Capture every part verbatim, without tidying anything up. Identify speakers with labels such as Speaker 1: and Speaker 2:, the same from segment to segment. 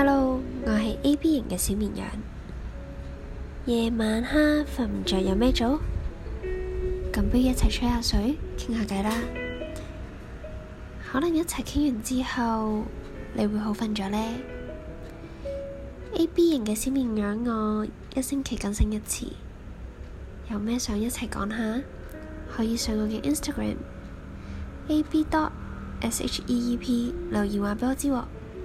Speaker 1: Hello，我係 A B 型嘅小綿羊。夜晚黑瞓唔着有咩做？咁不如一齊吹下水，傾下偈啦。可能一齊傾完之後，你會好瞓咗呢。A B 型嘅小綿羊，我一星期更新一次。有咩想一齊講下？可以上我嘅 Instagram A B dot S H E E P 留言話畀我知喎。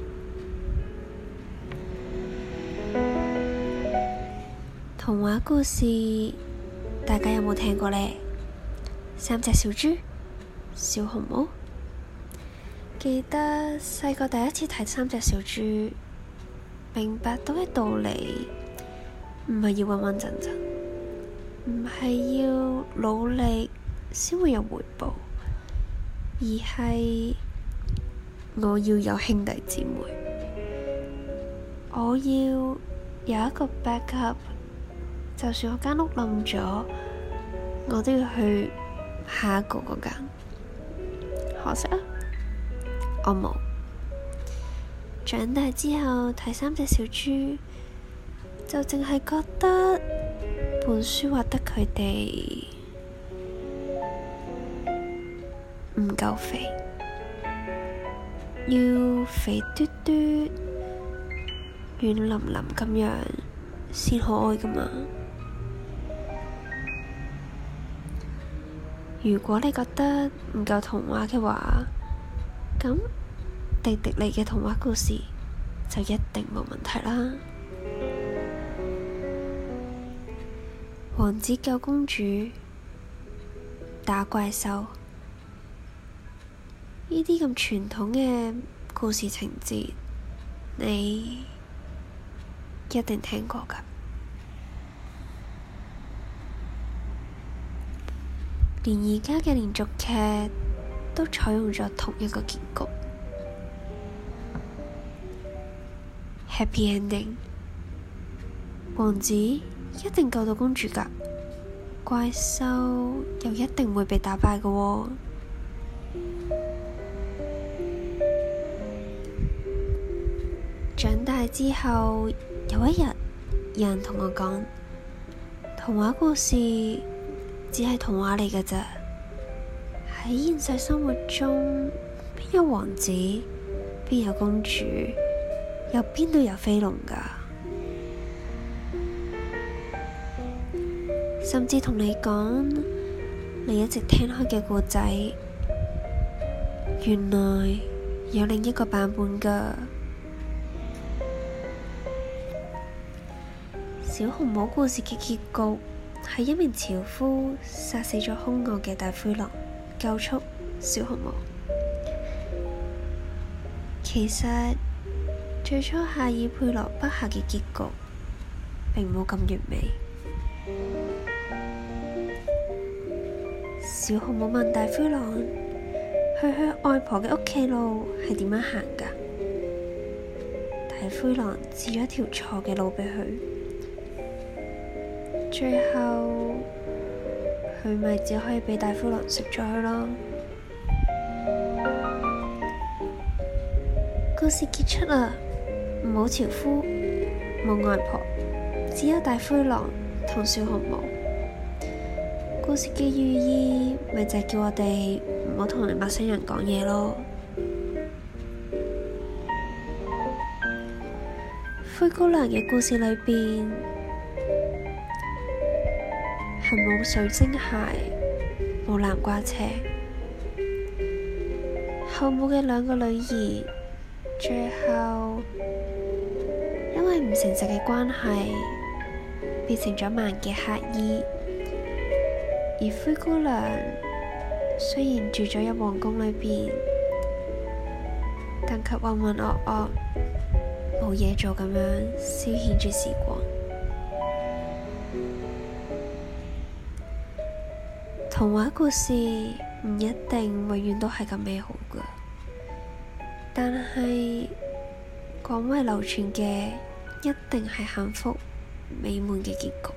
Speaker 1: 童話故事大家有冇聽過呢？三隻小豬、小紅帽。記得細個第一次睇三隻小豬，明白到嘅道理唔係要穩穩陣陣，唔係要努力先會有回報，而係我要有兄弟姊妹，我要有一個 backup。就算我間屋冧咗，我都要去下一個嗰間。可惜啊，我冇。長大之後睇三隻小豬，就淨係覺得本書畫得佢哋唔夠肥，要肥嘟嘟、軟腍腍咁樣先可愛㗎嘛。如果你覺得唔夠童話嘅話，咁迪迪尼嘅童話故事就一定冇問題啦。王子救公主，打怪獸，呢啲咁傳統嘅故事情節，你一定聽過㗎。連而家嘅連續劇都採用咗同一個結局 Happy Ending。王子一定救到公主㗎，怪獸又一定會被打敗㗎喎。長大之後，有一日有人同我講，童話故事只係童話嚟㗎咋，喺現實生活中邊有王子，邊有公主，又邊度有飛龍㗎？甚至同你講，你一直聽開嘅故仔，原來有另一個版本㗎。小紅帽故事嘅結局係一名樵夫殺死咗兇惡嘅大灰狼，救出小紅帽。其實最初夏爾佩羅筆下嘅結局並冇咁完美。小紅帽問大灰狼，去去外婆嘅屋企路係點樣行㗎？大灰狼指咗條錯嘅路畀佢。最後佢咪只可以畀大灰狼食咗佢咯。故事結束啦，冇樵夫，冇外婆，只有大灰狼同小紅帽。故事嘅寓意咪就係叫我哋唔好同你陌生人講嘢咯。灰姑娘嘅故事裏邊係冇水晶鞋，冇南瓜車。後母嘅兩個女兒，最後因為唔誠實嘅關係，變成咗盲嘅乞兒。而灰姑娘雖然住咗喺皇宮裏邊，但卻渾渾噩噩，冇嘢做咁樣消遣住時光。童話故事唔一定永遠都係咁美好㗎，但係廣為流傳嘅一定係幸福美滿嘅結局。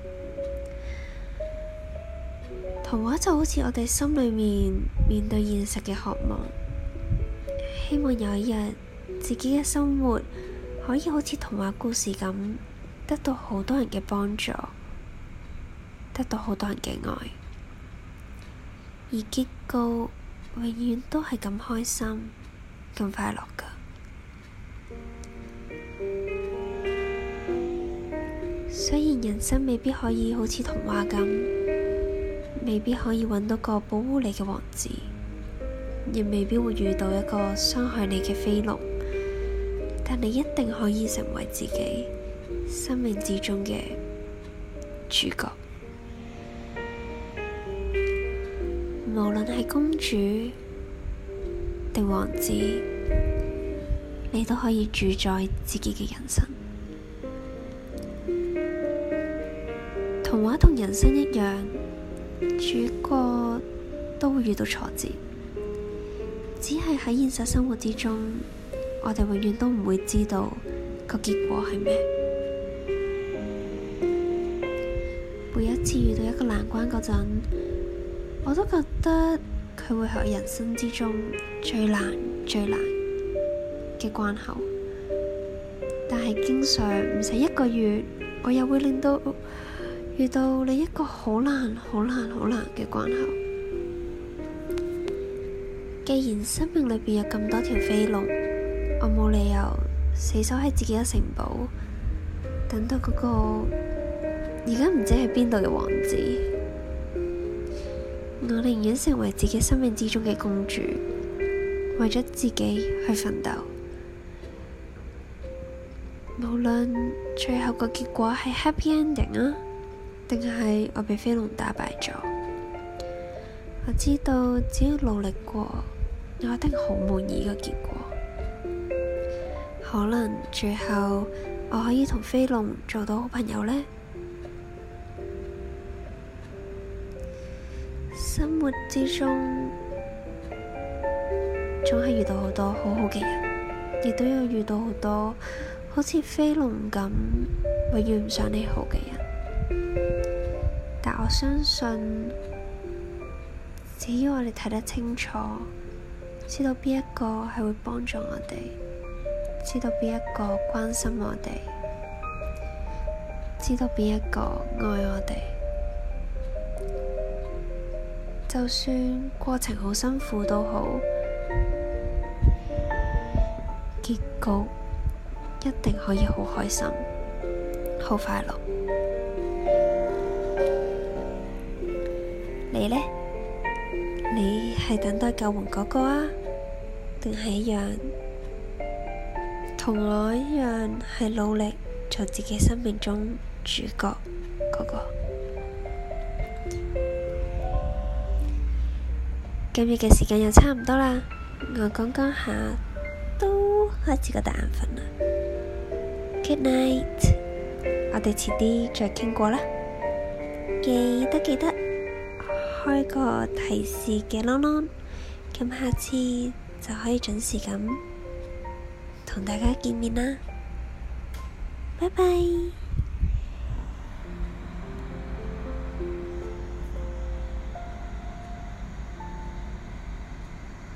Speaker 1: 童話就好似我哋心裏面面對現實嘅渴望，希望有一日自己嘅生活可以好似童話故事咁，得到好多人嘅幫助，得到好多人嘅愛，而結局永遠都係咁開心、咁快樂㗎。雖然人生未必可以好似童話咁，未必可以揾到個保護你嘅王子，亦未必會遇到一個傷害你嘅飛龍，但你一定可以成為自己生命之中嘅主角。無論係公主定王子，你都可以主宰自己嘅人生。童話同人生一樣，主角都會遇到挫折，只係喺現實生活之中，我哋永遠都唔會知道個結果係咩。每一次遇到一個難關嗰陣，我都覺得佢會係人生之中最難最難嘅關口，但係經常唔使一個月，我又會令到遇到另一個好難好難好難嘅關口。既然生命裏邊有咁多條飛龍，我冇理由死守喺自己嘅城堡，等到嗰個而家唔知喺邊度嘅王子。我寧願成為自己生命之中嘅公主，為咗自己去奮鬥。無論最後個結果係 happy ending 啊，定係我被飛龍打敗咗，我知道只要努力過，我一定好滿意個結果。可能最後我可以同飛龍做到好朋友呢。生活之中總係遇到好多好好嘅人，亦都有遇到好多好似飛龍咁永遠唔想你好嘅人。但我相信，只要我哋睇得清楚，知道邊一個係會幫助我哋，知道邊一個關心我哋，知道邊一個愛我哋，就算過程好辛苦都好，結局一定可以好開心、好快樂。你呢？你係等待救援嗰個啊？定係一樣同我一樣係努力做自己生命中主角嗰個？今日嘅時間又差唔多啦，我講講下都開始覺得眼瞓啦。Good night， 我哋遲啲再傾過啦。記得記得開個提示嘅啷啷，咁下次就可以準時咁同大家見面啦。拜拜。